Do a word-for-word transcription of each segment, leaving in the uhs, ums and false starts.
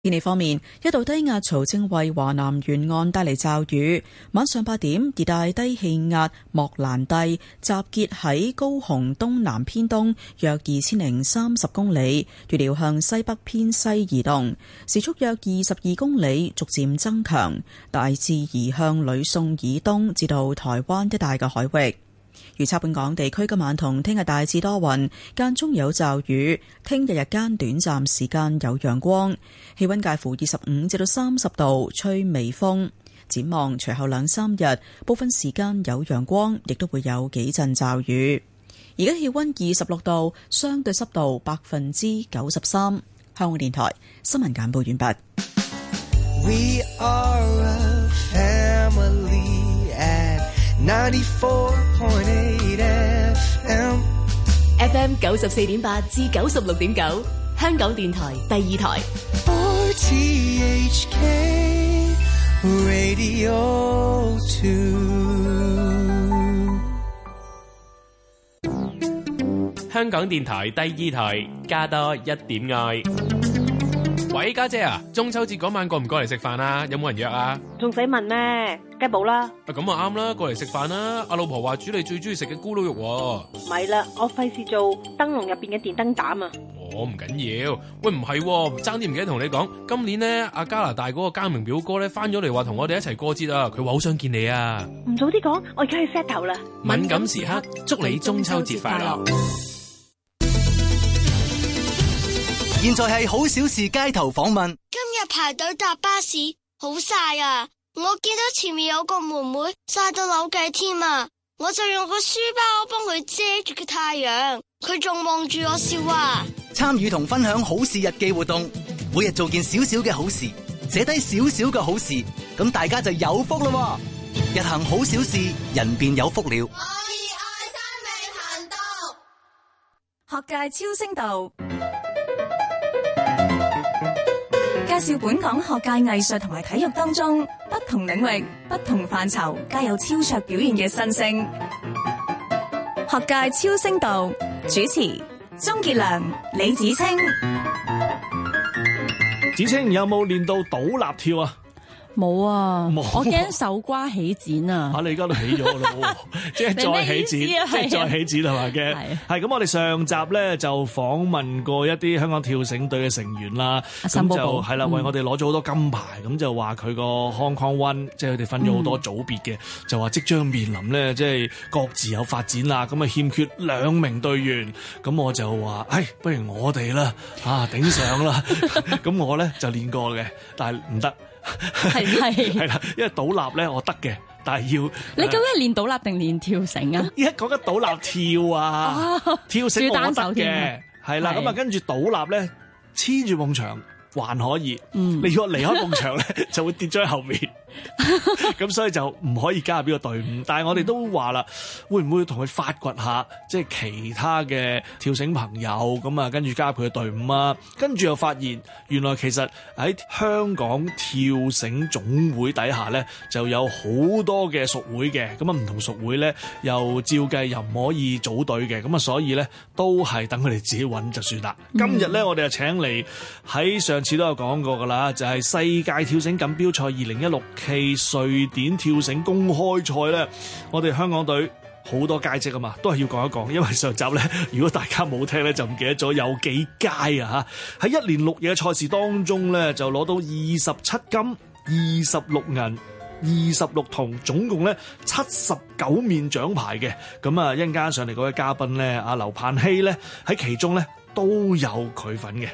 天氣方面，一道低壓槽正為華南沿岸帶嚟驟雨。晚上八點，熱帶低氣壓莫蘭蒂集結喺高雄東南偏東約二千零三十公里，預料向西北偏西移動，時速約二十二公里，逐漸增強，大致移向呂宋以東至到台灣一帶嘅海域。預測本港地區今晚同聽日大致多雲，間中有驟雨。聽日日間短暫時間有陽光，氣溫介乎二十五至到三十度，吹微風。展望隨後兩三日，部分時間有陽光，亦都會有幾陣驟雨。而家氣溫二十六度，相對濕度百分之九十三。香港電台新聞簡報完畢。We are a family at ninety-four point eight F M，F M 九十四點八至九十六點九，香港電台第二台。R T H K Radio two， 香港電台第二台，加多一點愛。喂，家姐啊，中秋節嗰晚過唔過嚟食飯啊？有冇人約啊？ 仲使問咩？梗係冇啦。 啊，咁啊啱啦，過嚟食飯啦！阿老婆話煮你最中意食嘅咕嚕肉喎。 咪啦，我費事做燈籠入邊嘅電燈膽啊！ 我唔緊要。喂，唔係喎，爭啲唔記得同你講，今年呢，阿加拿大嗰個嘉明表哥咧翻咗嚟話同我哋一齊過節啊！佢話好想見你啊！ 唔早啲講，我而家去 set 頭啦。 敏感時刻，祝你中秋節快樂。 現在係好小事街頭訪問。 今日排隊搭巴士好曬啊！我見到前面有個妹妹曬到扭計添啊！我就用個書包幫佢遮住個太陽，佢仲望住我笑啊！ 參與同分享好事日記活動，每日做件少少嘅好事，寫低少少嘅好事，咁大家就有福咯！日行好小事，人便有福了。 我以愛生命行動，學界超聲道。介紹本港學界藝術同埋體育當中不同領域、不同範疇皆有超卓表現嘅新星。學界超聲道主持鍾傑良、李芷菁。 芷菁有冇練到倒立跳啊？ 冇啊， 冇， 我驚手瓜起剪啊！ 嚇、啊、你而家都起咗咯，即係再起剪，即係再起剪係咪嘅？係咁，我哋上集咧就訪問過一啲香港跳繩隊嘅成員啦，咁就係啦，為我哋攞咗好多金牌，咁、嗯、就話佢個 Hong Kong One，即係佢哋分咗好多組別嘅，嗯、就話即將面臨咧，即係各自有發展啦，咁啊欠缺兩名隊員，咁我就話，唉，不如我哋啦，啊頂上啦，咁我咧就練過嘅，但係唔得。 係係係啦，因為倒立咧我得嘅，但係要你究竟係練倒立定練跳繩啊？ 而家講緊倒立跳啊，哦、跳繩我得嘅，係啦，咁啊跟住倒立咧黐住埲牆還可以，嗯、你如果離開埲牆咧就會跌咗喺後面。咁所以就唔可以加入呢個隊伍，但係我哋都話啦，會唔會同佢發掘下，即係其他嘅跳繩朋友咁啊，跟住加入佢嘅隊伍啊，跟住又發現原來其實喺香港跳繩總會底下咧，就有好多嘅屬會嘅，咁啊唔同屬會咧又照計又唔可以組隊嘅，咁啊所以咧都係等佢哋自己揾就算啦。嗯、今日咧我哋就請嚟喺上次都有講過噶啦，就係、是、世界跳繩錦標賽二零一六。其瑞典跳繩公開賽咧，我哋香港隊好多佳績啊嘛，都係要講一講，因為上集咧，如果大家冇聽咧，就唔記得咗有幾佳啊嚇！喺一連六夜嘅賽事當中咧，就攞到二十七金、二十六銀、二十六銅，總共咧七十九面獎牌嘅。咁啊，一陣間上嚟嗰位嘉賓咧，阿劉盼希咧喺其中咧都有佢份嘅。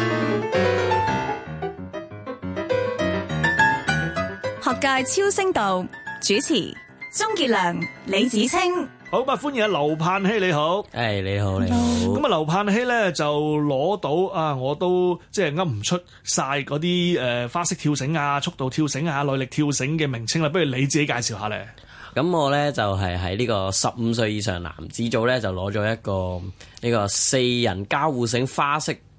學界超聲道主持鍾傑良、李芷菁。 好，咁啊歡迎阿劉盼希，你好。 誒、hey, 你好，你好。 咁啊劉盼希咧就攞到啊，我都即係噏唔出晒嗰啲誒花式跳繩啊、速度跳繩啊、耐力跳繩嘅名稱啦，不如你自己介紹下咧。 咁我咧就係喺呢個十五歲以上男子組咧就攞咗一個呢個四人交互繩花式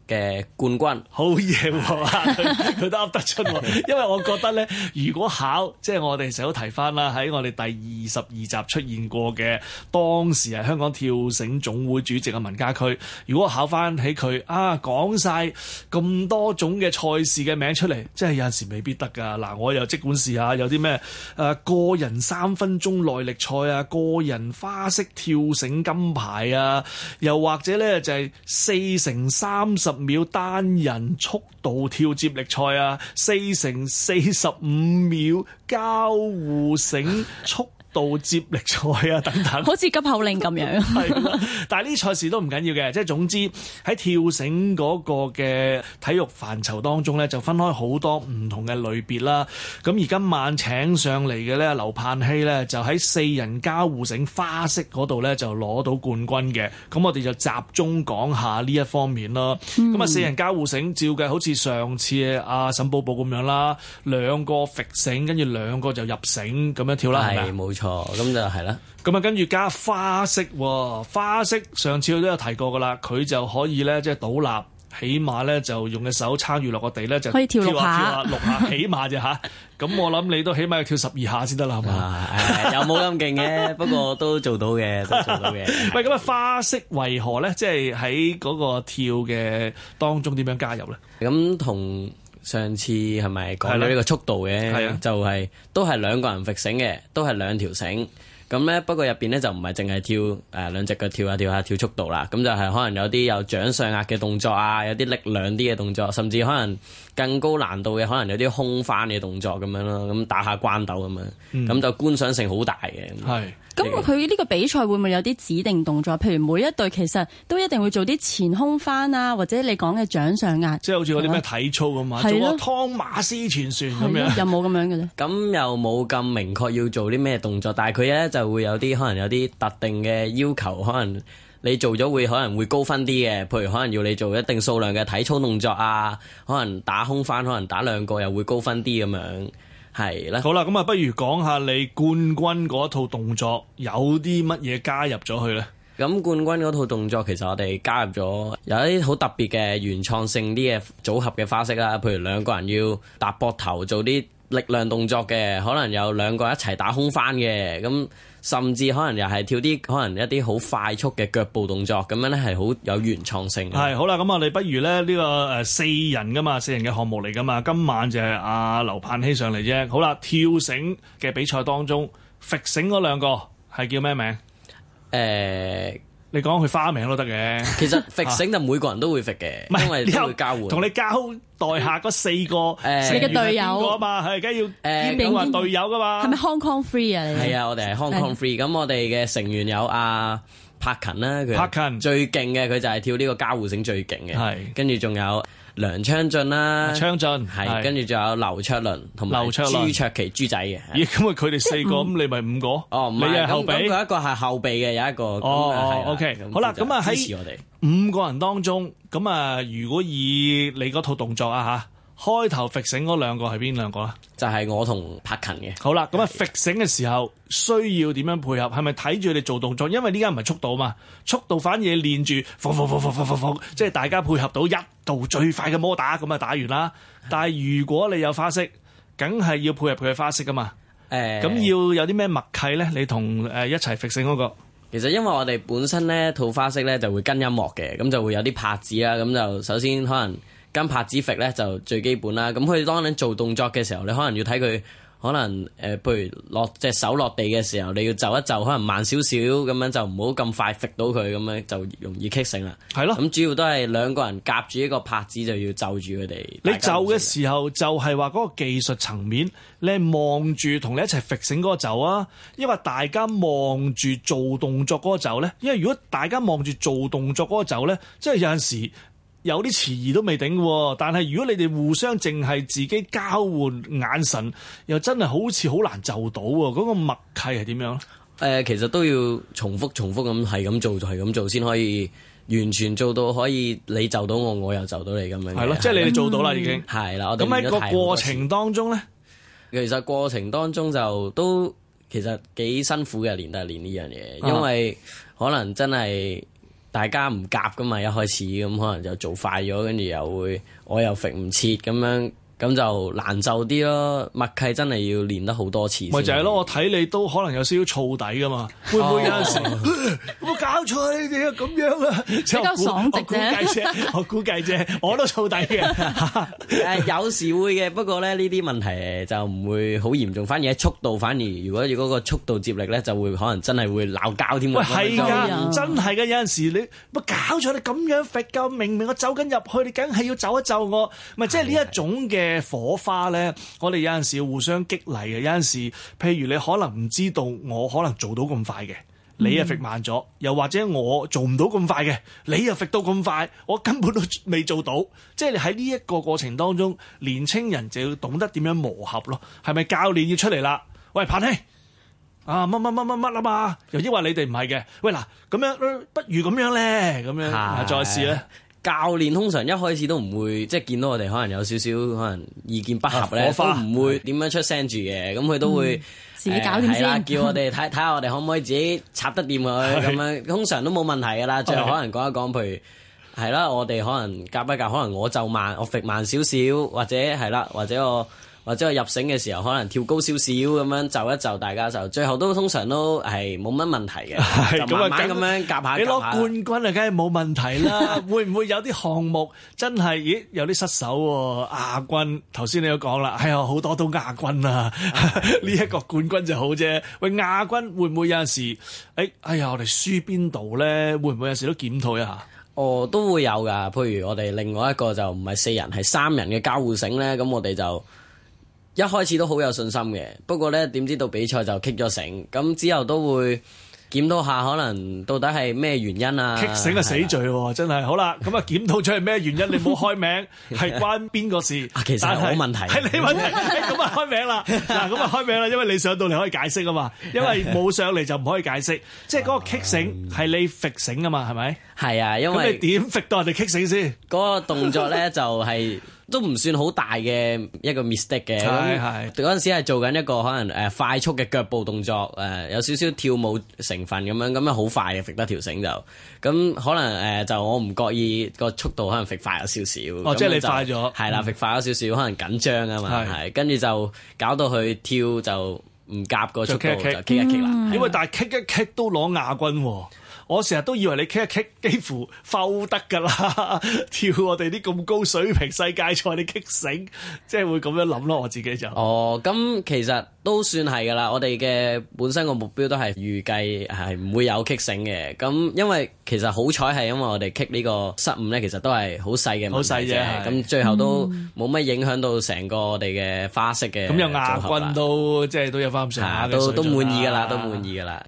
嘅冠軍。 好嘢喎，佢佢都噏得出喎。因為我覺得咧，如果考即係我哋成日都提翻啦，喺我哋第二十二集出現過嘅，當時係香港跳繩總會主席嘅文家駒，如果考翻起佢啊，講晒咁多種嘅賽事嘅名出嚟，即係有陣時未必得㗎。嗱，我又即管試下，有啲咩誒個人三分鐘耐力賽啊，個人花式跳繩金牌啊，又或者咧就係四乘三十秒單人速度跳接力賽啊，四乘四十五秒交互繩速度接力賽啊，等等， 好似急口令咁樣。 係啦，但係呢啲賽事都唔緊要嘅，即係總之喺跳繩嗰個嘅體育範疇當中咧，就分開好多唔同嘅類別啦。咁而今晚請上嚟嘅咧，劉盼希咧就喺四人交互繩花式嗰度咧就攞到冠軍嘅。咁我哋就集中講下呢一方面咯。咁啊、嗯，四人交互繩照計好似上次阿沈寶寶咁樣啦，兩個揈繩，跟住兩個就入繩咁樣跳啦，係咪？ 冇錯。哦，咁就係啦。 咁啊，跟住加花式喎，花式上次佢都有提過噶啦，佢就可以咧，即係倒立，起碼咧就用隻手撐住落個地咧，就可以跳六下， 跳下六下，起碼啫嚇。咁我諗你都起碼要跳十二下先得啦，係嘛？ 又冇咁勁嘅，不過都做到嘅，都做到嘅。 喂，咁啊，花式為何咧？即係喺嗰個跳嘅當中點樣加入咧？ 咁同上次係咪講咗呢個速度嘅？係啊，就係都係兩個人揈繩嘅，都係兩條繩。咁咧，不過入邊咧就唔係淨係跳誒、呃、兩隻腳跳下跳下跳速度啦。咁就係可能有啲有掌上壓嘅動作啊，有啲力量啲嘅動作，甚至可能更高難度嘅，可能有啲空翻嘅動作咁樣咯。咁打下關鬥咁樣，咁、嗯、就觀賞性好大嘅。係。 咁佢呢個比賽會唔會有啲指定動作？譬如每一隊其實都一定會做啲前空翻啊，或者你講嘅掌上壓， 即係好似嗰啲咩體操咁啊，做個湯馬斯旋旋咁樣， 有冇咁樣嘅咧？ 咁又冇咁明確要做啲咩動作，但係佢咧就會有啲可能有啲特定嘅要求，可能你做咗會可能會高分啲嘅，譬如可能要你做一定數量嘅體操動作啊，可能打空翻，可能打兩個又會高分啲咁樣。係啦， 好啦，咁啊，不如講下你冠軍嗰套動作有啲乜嘢加入咗去咧？ 咁冠軍嗰套動作其實我哋加入咗有一啲好特別嘅原創性啲嘅組合嘅花式啦，譬如兩個人要搭膊頭做啲力量動作嘅，可能有兩個一齊打空翻嘅，咁甚至可能又係跳啲可能一啲好快速嘅腳步動作，咁樣咧係好有原創性嘅。 係好啦，咁我哋不如咧呢個誒四人噶嘛，四人嘅項目嚟噶嘛，今晚就係阿劉盼希上嚟啫。好啦，跳繩嘅比賽當中，揈繩嗰兩個係叫咩名？誒、 欸。 你講佢花名都得嘅， 其實揈繩就每個人都會揈嘅，因為都會交換。 同你交代下嗰四個誒， 你嘅隊友啊嘛，係梗係要兼顧話隊友噶嘛。 係咪 Hong Kong Free 啊？你係啊，我哋係 Hong Kong Free。咁我哋嘅成員有阿柏勤啦，佢柏勤最勁嘅，佢就係跳呢個交互繩最勁嘅。係，跟住仲有梁昌俊啦， 昌俊係，跟住仲有劉卓倫同埋朱卓琪豬仔嘅。 咦，咁啊佢哋四個，咁你咪五個？ 哦，唔係，你係後備。咁佢一個係後備嘅，有一個。 哦，OK，好啦，咁啊喺五個人當中，咁啊如果以你嗰套動作啊吓，開頭揈繩嗰兩個係邊兩個啊？ 就係我同柏勤嘅。 好啦，咁啊揈繩嘅時候需要點樣配合？係咪睇住你做動作？因為呢家唔係速度嘛，速度反而練住，放放放放放放放，即係大家配合到一度最快嘅摩打，咁啊打完啦。但係如果你有花式，梗係要配合佢嘅花式噶嘛。誒、欸，咁要有啲咩默契咧？你同誒一齊揈繩嗰個？ 其實因為我哋本身咧套花式咧就會跟音樂嘅，咁就會有啲拍子啦。咁就首先可能跟拍子揈咧就最基本啦。咁佢當你做動作嘅時候，你可能要睇佢。可能誒、呃，譬如落隻手落地嘅時候，你要就一就，可能慢少少咁樣，就唔好咁快揈到佢，咁樣就容易棘繩啦。係咯，咁主要都係兩個人夾住一個拍子，就要就住佢哋。 你就嘅時候就係話嗰個技術層面，你係望住同你一齊揈繩嗰個就啊，因為大家望住做動作嗰個就咧，因為如果大家望住做動作嗰個就咧，即係有陣時。有啲遲疑都未定喎，但係如果你哋互相淨係自己交換眼神，又真係好似好難就到喎。嗰、那個默契係點樣？誒、 呃，其實都要重複重複咁係咁做，就係咁做先可以完全做到可以你就到我，我又就到你咁樣。係咯，即係你哋做到啦，已經係啦。咁喺個過程當中咧， 其實過程當中就都其實幾辛苦嘅，練都係練呢樣嘢，因為可能真係。 大家唔夾噶嘛，一開始咁可能就做快咗，跟住又會我又揈唔切咁樣。咁就難就啲咯，默契真係要練得好多次。 咪就係咯，我睇你都可能有少少燥底噶嘛，會唔會有陣時有冇搞錯你哋啊咁樣啊？比較爽直啫，我估計啫，我都燥底嘅。 誒有時會嘅，不過咧呢啲問題就唔會好嚴重，反而喺速度，反而如果如果個速度接力咧，就會可能真係會鬧交添。 喂，係㗎，真係㗎，有陣時你乜搞錯？你咁樣揈㗎，明明我走緊入去，你梗係要走一走我，咪即係呢一種嘅火花咧，我哋有陣時要互相激勵嘅。有陣時，譬如你可能唔知道我可能做到咁快嘅，你又揈慢咗；又或者我做唔到咁快嘅，你又揈到咁快，我根本都未做到。即係你喺呢一個過程當中，年青人就要懂得點樣磨合咯。係咪教練要出嚟啦？喂，彭兄啊，乜乜乜乜乜啊嘛？又抑或你哋唔係嘅？喂，嗱，咁樣不如咁樣咧，咁樣啊，再試咧。 教練通常一開始都唔會，即係見到我哋可能有少少可能意見不合咧，都唔會點樣出聲住嘅。咁佢都會自己搞掂先， 叫我哋睇睇下我哋可唔可以自己插得掂佢咁樣。通常都冇問題噶啦。最後可能講一講，譬如係啦，我哋可能夾一夾，可能我就慢，我揈慢少少，或者係啦，或者我。或者我入繩嘅時候，可能跳高少少咁樣就一就，大家就最後都通常都係冇乜問題嘅，就慢慢咁樣夾下夾下。 你攞冠軍啊，梗係冇問題啦。會唔會有啲項目真係，咦有啲失手喎？亞軍頭先你都講啦，係啊，好多都亞軍啊。呢一個冠軍就好啫。喂，亞軍會唔會有陣時，誒哎呀，我哋輸邊度咧？會唔會有時都檢討一下？ 哦，都會有㗎。譬如我哋另外一個就唔係四人，係三人嘅交互繩咧，咁我哋就。一開始都好有信心嘅，不過咧點知到比賽就棘咗繩，咁之後都會檢討下，可能到底係咩原因啊？ 棘繩係死罪喎，的真係。好啦，咁啊檢討出係咩原因？你唔好開名，係關邊個事？ 啊，其實係我問題， 係你問題。咁啊開名啦，嗱咁啊開名啦，因為你上到嚟可以解釋啊嘛，因為冇上嚟就唔可以解釋。即係嗰個棘繩係你揈繩啊嘛，係咪？ 係啊，因為咁你點揈到人哋棘繩先？ 嗰個動作咧就係、是。都唔算好大嘅一個 mistake 嘅，咁嗰陣時係做緊一個可能誒快速嘅腳步動作，誒有少少跳舞成分咁樣，咁樣好快嘅揈得條繩就，咁可能誒就我唔覺意個速度可能揈快咗少少。 哦，即係你快咗， 係啦，揈快咗少少，可能緊張啊嘛，係，跟住就搞到佢跳就唔夾個速度就棘一棘啦。 因為但係棘一棘都攞亞軍喎。我成日都以為你棘一棘幾乎浮得㗎啦，跳我哋啲咁高水平世界賽，你棘繩，即係會咁樣諗咯。我自己就哦，咁其實都算係㗎啦。我哋嘅本身個目標都係預計係唔會有棘繩嘅。咁因為其實好彩係因為我哋棘呢個失誤咧，其實都係好細嘅問題啫。咁最後都冇乜影響到成個我哋嘅花式嘅。 咁有亞軍都即係都有翻咁上下嘅水準， 都都滿意㗎啦，都滿意㗎啦。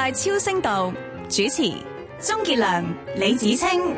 界超聲道主持鍾傑良、李芷菁。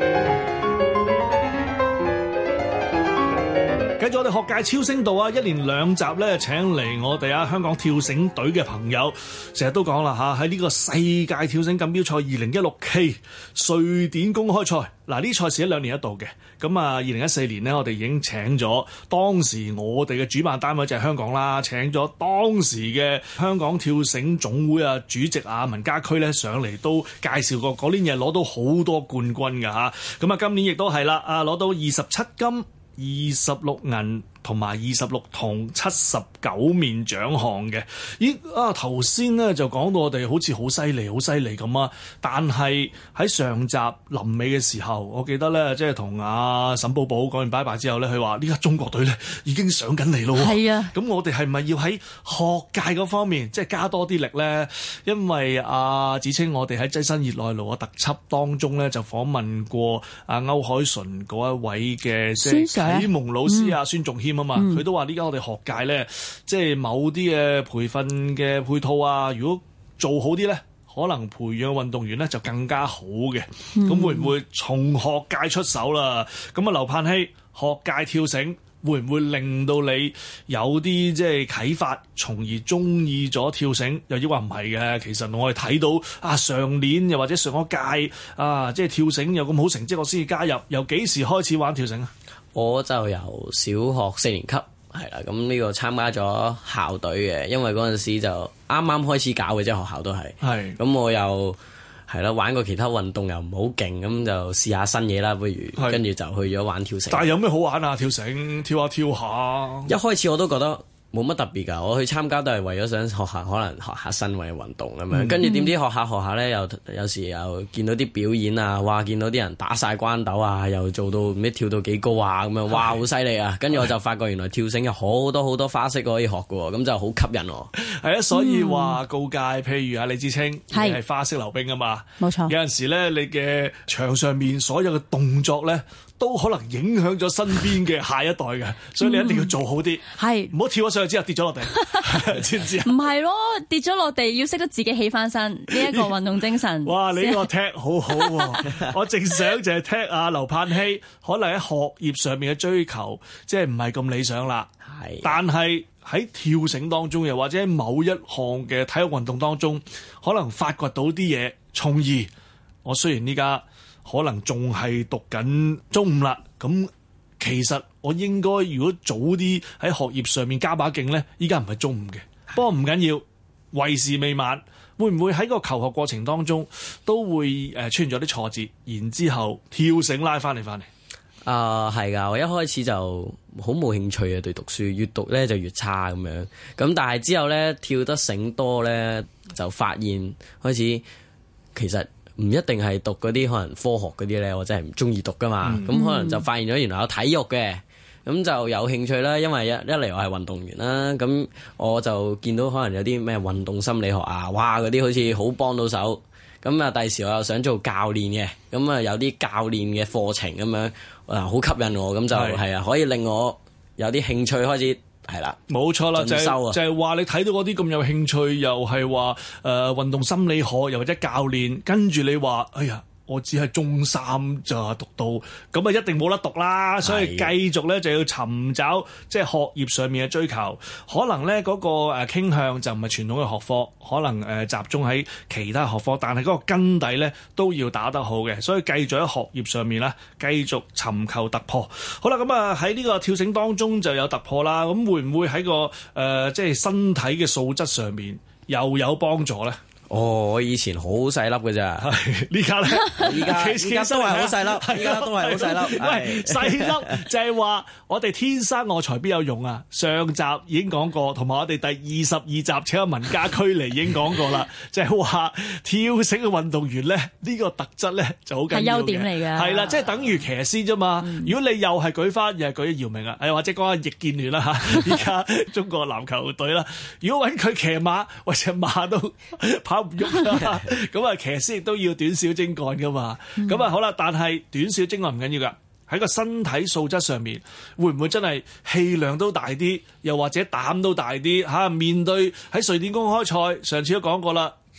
繼續我哋學界超聲道啊，一連兩集咧請嚟我哋啊香港跳繩隊嘅朋友，成日都講啦嚇，喺呢個世界跳繩錦標賽二零一六 K 瑞典公開賽，嗱呢賽事一兩年一度嘅，咁啊二零一四年呢，我哋已經請咗當時我哋嘅主辦單位就係香港啦，請咗當時嘅香港跳繩總會啊主席啊文家駒咧上嚟都介紹過，嗰年嘢攞到好多冠軍㗎嚇，咁啊今年亦都係啦，啊攞到二十七金、二十六銀同埋二十六銅、七十九面獎項嘅。咦啊頭先咧就講到我哋好似好犀利好犀利咁啊，但係喺上集臨尾嘅時候，我記得咧即係同阿沈寶寶講完拜拜之後咧，佢話呢家中國隊咧已經上緊嚟咯。係啊，咁我哋係咪要喺學界嗰方面即係加多啲力咧？因為阿芷菁，我哋喺躋身熱內盧嘅特輯當中咧就訪問過阿歐鎧淳嗰一位嘅即係啟蒙老師啊孫仲謙啊嘛，佢、嗯、都話呢家我哋學界咧，即係某啲嘅培訓嘅配套啊，如果做好啲咧，可能培養運動員咧就更加好嘅。咁、嗯、會唔會從學界出手啦？咁啊，劉盼希，學界跳繩會唔會令到你有啲即係啟發，從而中意咗跳繩？又抑或唔係嘅？其實我哋睇到啊，上年又或者上一屆啊，即係跳繩有咁好成績，我先至加入。由幾時開始玩跳繩啊？我就由小學四年級係啦，咁呢個參加咗校隊嘅，因為嗰陣時就啱啱開始搞嘅啫，學校都係。係。咁我又係啦，玩過其他運動又唔好勁，咁就試下新嘢啦，不如跟住就去咗玩跳繩。但係有咩好玩啊？跳繩跳下跳下。一開始我都覺得冇乜特別㗎，我去參加都係為咗想學下，可能學下新嘅運動咁樣。跟住點知學下學下咧，又有時又見到啲表演啊，哇！見到啲人打晒關鬥啊，又做到唔知跳到幾高啊咁樣，哇！好犀利啊！跟住我就發覺原來跳繩有好多好多花式可以學嘅喎，咁就好吸引我。係啊，所以話告誡，譬如啊李芷菁，你係花式溜冰啊嘛，冇錯。有陣時咧，你嘅場上面所有嘅動作咧，都可能影響咗身邊嘅下一代嘅，所以你一定要做好啲，係唔好跳咗上去之後跌咗落地，知唔知啊？唔係咯，跌咗落地要識得自己起翻身，呢一個運動精神。哇！你呢個踢好好喎，我正想就係踢阿劉盼希，可能喺學業上面嘅追求即係唔係咁理想啦。係，但係喺跳繩當中，又或者喺某一項嘅體育運動當中，可能發掘到啲嘢，從而我雖然呢家可能仲係讀緊中五啦，咁其實我應該如果早啲喺學業上面加把勁呢，依家唔係中五嘅，不過唔緊要，為時未晚。會唔會喺個求學過程當中都會誒出現咗啲挫折，然之後跳繩拉翻嚟翻嚟？啊，係㗎，我一開始就好冇興趣啊，對讀書，越讀咧就越差咁樣。咁但係之後咧跳得繩多咧，就發現開始其實唔一定係讀嗰啲可能科學嗰啲咧，我真係唔中意讀噶嘛。咁、嗯、可能就發現咗原來有體育嘅，咁就有興趣啦。因為一一嚟我係運動員啦，咁我就見到可能有啲咩運動心理學啊，哇嗰啲好似好幫到手。咁啊，第時我又想做教練嘅，咁啊有啲教練嘅課程咁樣，啊好吸引我，咁就係啊可以令我有啲興趣開始係啦。冇錯啦，就係就係話你睇到嗰啲咁有興趣，又係話誒運動心理學，又或者教練，跟住你話哎呀，我只係中三就讀到，咁啊一定冇得讀啦，所以繼續咧就要尋找即係學業上面嘅追求，可能咧嗰個誒傾向就唔係傳統嘅學科，可能誒集中喺其他學科，但係嗰個根底咧都要打得好嘅，所以繼續喺學業上面咧繼續尋求突破。好啦，咁啊喺呢個跳繩當中就有突破啦，咁會唔會喺個誒、呃、即係身體嘅素質上面又有幫助咧？哦，我以前好細粒嘅咋，呢家咧，依家依家都係好細粒，依家都係好細粒。喂，細粒就係話我哋天生我材必有用啊！上集已經講過，同埋我哋第二十二集請阿文家駒嚟已經講過啦，就係話跳繩嘅運動員咧，呢個特質咧就好緊要嘅，係優點嚟嘅。係啦，即係等於騎師啫嘛。如果你又係舉翻，又係舉姚明啊，誒或者講下易建聯啦嚇，依家中國籃球隊啦，如果揾佢騎馬，喂隻馬都跑唔喐啦，咁啊騎師亦都要短小精幹噶嘛，咁啊、嗯、好啦，但係短小精幹唔緊要噶，喺個身體素質上面，會唔會真係氣量都大啲，又或者膽都大啲嚇、啊？面對喺瑞典公開賽，上次都講過啦，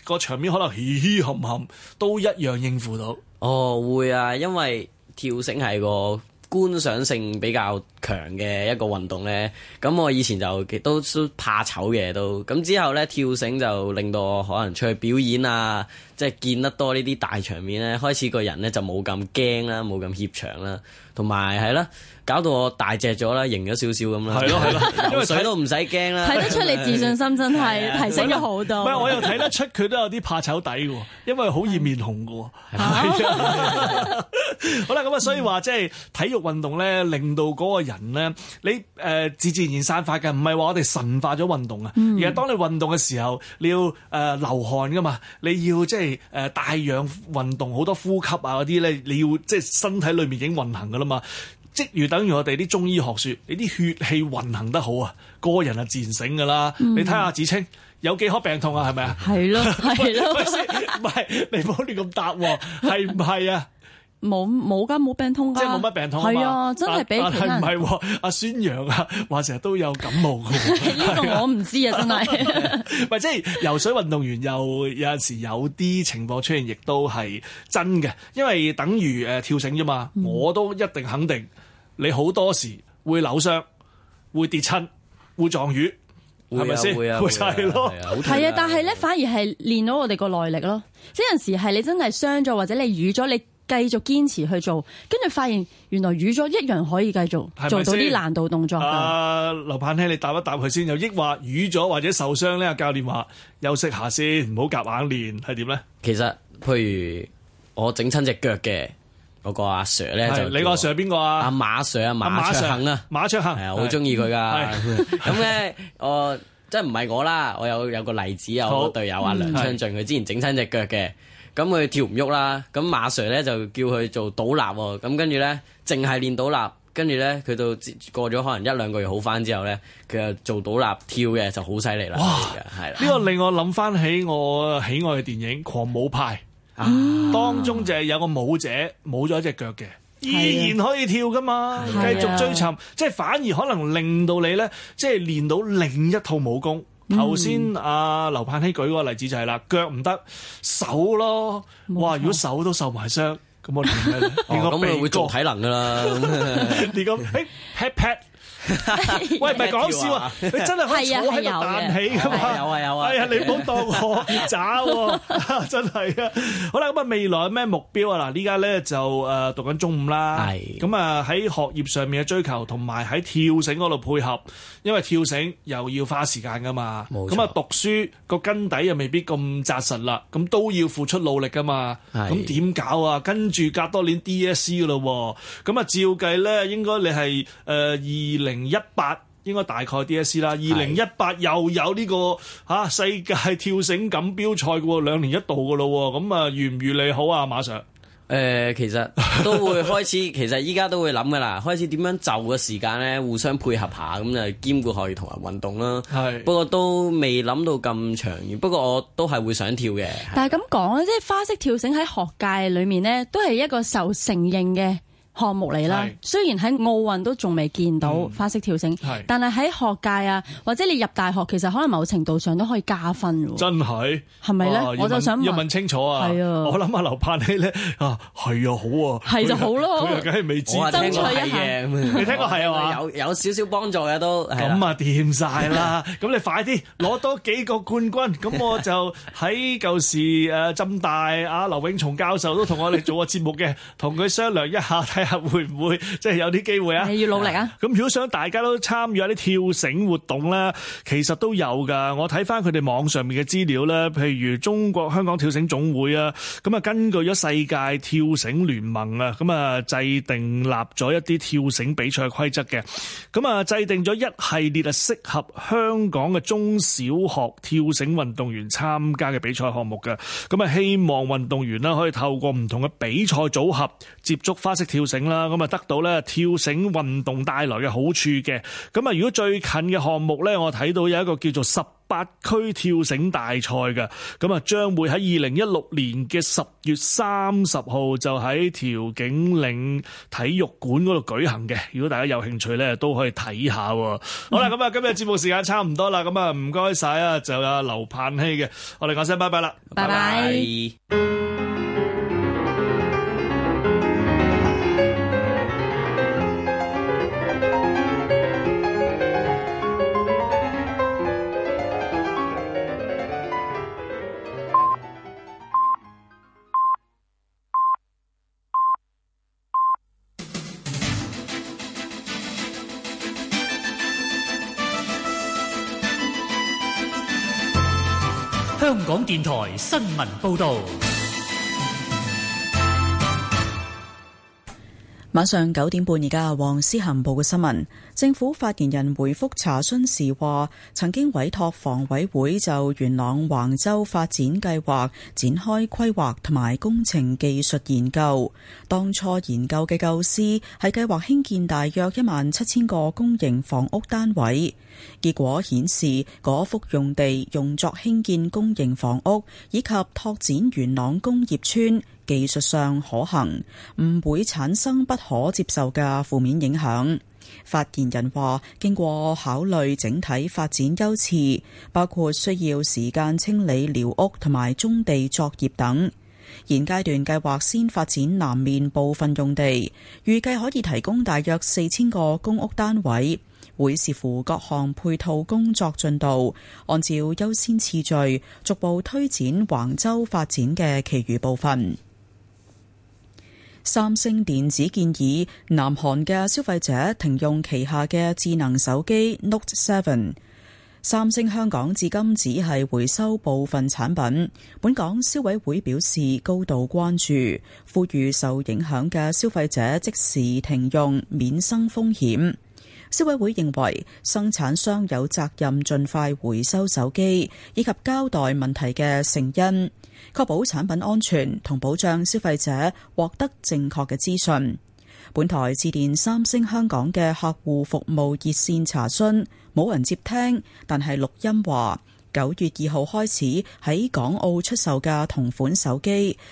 個場面可能嘻嘻冚冚都一樣應付到？ 哦，會啊，因為跳繩係個觀賞性比較強嘅一個運動咧，咁我以前就都都怕醜嘅都，咁之後咧跳繩就令到我可能出去表演啊，即係見得多呢啲大場面咧，開始個人咧就冇咁驚啦，冇咁怯場啦，同埋係啦，搞到我大隻咗啦，型咗少少咁啦，係咯係咯，因為水都唔使驚啦， 睇得出你自信心真係提升咗好多。 唔係，我又睇得出佢都有啲怕醜底嘅，因為好易面紅嘅。係啊，好啦，咁啊，所以話即係體育運動咧，令到嗰個人咧，你誒、呃、自自然散發嘅，唔係話我哋神化咗運動啊，嗯、而係當你運動嘅時候，你要誒、呃、流汗噶嘛，你要即係誒帶氧運動，好多呼吸啊嗰啲咧，你要即係身體裏面已經運行噶啦嘛。即如等於我哋啲中醫學説，你啲血氣運行得好啊，個人啊自然醒噶啦。嗯、你睇下子清有幾可病痛啊？係咪啊？係咯，係咯。 唔係你唔好亂咁答喎，係唔係啊？ 冇冇㗎，冇病痛㗎， 即係冇乜病痛啊嘛。 係啊，真係比其他人。 但係唔係阿孫楊啊，話成日都有感冒㗎。 呢個我唔知啊，真係。 唔係即係游水運動員又有陣時有啲情況出現，亦都係真嘅，因為等於誒跳繩啫嘛。嗯、我都一定肯定，你好多時會扭傷、會跌親、會撞魚，係咪先？會啊，會係咯。 係啊，但係咧反而係練到我哋個耐力咯。即係有陣時係你真係傷咗，或者你瘀咗，你繼續堅持去做，跟住發現原來瘀咗一樣可以繼續做到啲難度動作。啊， 劉栢曦，你答一答佢先。又抑或瘀咗或者受傷咧？教練話休息下先，唔好夾硬練，係點咧？ 其實譬如我整親隻腳嘅嗰個阿 Sir 咧，就你個阿 Sir 係邊個啊？ 阿馬 Sir 啊，馬卓恆啊， 馬卓恆係啊，好中意佢噶。咁咧，我即係唔係我啦，我有有個例子啊，我個隊友阿梁昌俊，佢之前整親隻腳嘅。咁佢跳唔喐啦，咁馬 Sir 咧就叫佢做倒立喎，咁跟住咧淨係練倒立，跟住咧佢到過咗可能一兩個月好返之後咧，佢就做倒立跳嘅就好犀利啦。哇，係啦， 呢個令我諗返起我喜愛嘅電影《狂舞派》，啊，當中就係有個舞者冇咗一隻腳嘅，依然可以跳㗎嘛，繼續追尋，即係反而可能令到你咧，即係練到另一套武功。頭先阿劉栢曦舉嗰個例子就係啦，腳唔得，手咯，哇！如果手都受埋傷，咁我練咩咧？ 咁佢會做體能㗎啦。 你咁誒 pat pat。喂，唔係講笑啊！你真係可以坐喺度彈起㗎嘛？ 有啊有啊！ 哎呀，你唔好當我渣喎，真係啊！好啦，咁啊未來有咩目標啊？嗱，依家咧就誒讀緊中五啦，咁啊喺學業上面嘅追求，同埋喺跳繩嗰度配合，因為跳繩又要花時間㗎嘛。咁啊讀書個根底又未必咁紮實啦，咁都要付出努力㗎嘛。咁點搞啊？跟住隔多年 D S C 㗎咯喎，咁啊照計咧應該你係誒二零。零一八應該大概 D S C 啦，二零一八又有呢、這個嚇、啊、世界跳繩錦標賽嘅喎，兩年一度嘅咯喎，咁啊預唔預你好啊馬 Sir？誒、 呃，其實都會開始，其實依家都會諗嘅啦，開始點樣就嘅時間咧，互相配合下，咁就兼顧學業同埋運動啦。係是，不過都未諗到咁長遠，不過我都係會想跳嘅。 但係咁講咧，即係花式跳繩喺學界裏面咧，都係一個受承認嘅項目嚟啦，是雖然喺奧運都仲未見到花式跳繩，嗯、但係喺學界啊，或者你入大學，其實可能某程度上都可以加分喎。 真係係咪咧？我就想問要問清楚啊！係啊，我諗下劉栢曦咧啊，係啊，好啊， 係就好咯。 佢又梗係未知， 爭取一下。你聽過係啊嘛？ 有有少少幫助嘅都。 咁啊，掂晒啦！咁你快啲攞多幾個冠軍，咁我就喺舊時誒浸大啊劉永松教授都同我哋做過節目嘅，同佢商量一下。會唔會即係有啲機會啊？ 你要努力啊！ 咁如果想大家都參與一啲跳繩活動咧，其實都有噶。我睇翻佢哋網上面嘅資料咧，譬如中國香港跳繩總會啊，咁啊根據咗世界跳繩聯盟啊，咁啊制定立咗一啲跳繩比賽規則嘅，咁啊制定咗一系列啊適合香港嘅中小學跳繩運動員參加嘅比賽項目嘅，咁啊希望運動員啦可以透過唔同嘅比賽組合接觸花式跳繩。 繩啦，咁啊得到咧跳繩運動帶來嘅好處嘅。咁啊，如果最近嘅項目咧，我睇到有一個叫做十八區跳繩大賽嘅，咁啊將會喺二零一六年嘅十月三十號就喺調景嶺體育館嗰度舉行嘅。如果大家有興趣咧，都可以睇下。嗯、好啦，咁啊今日節目時間差唔多啦，咁啊唔該晒啊，就有劉盼希嘅，我哋講聲拜拜啦， 拜拜。 香港電台新聞報道。 晚上九點半，而家黃思涵報嘅新聞。政府發言人回覆查詢時話，曾經委託房委會就元朗橫洲發展計劃展開規劃同埋工程技術研究。當初研究嘅構思係計劃興建大約一萬七千個公營房屋單位。結果顯示，嗰幅用地用作興建公營房屋以及拓展元朗工業村，技術上可行，唔會產生不可接受嘅負面影響。發言人話，經過考慮整體發展優次，包括需要時間清理寮屋同埋棕地作業等。現階段計劃先發展南面部分用地，預計可以提供大約四千個公屋單位。會視乎各項配套工作進度，按照優先次序逐步推展橫洲發展嘅其餘部分。三星電子建議南韓嘅消費者停用旗下嘅智能手機 Note 七。三星香港至今只係回收部分產品，本港消委會表示高度關注，呼籲受影響嘅消費者即時停用，免生風險。消委會認為生產商有責任盡快回收手機，以及交代問題嘅成因，確保產品安全同保障消費者獲得正確嘅資訊。本台致電三星香港嘅客戶服務熱線查詢，冇人接聽，但係錄音話九月二號開始喺港澳出售嘅同款手機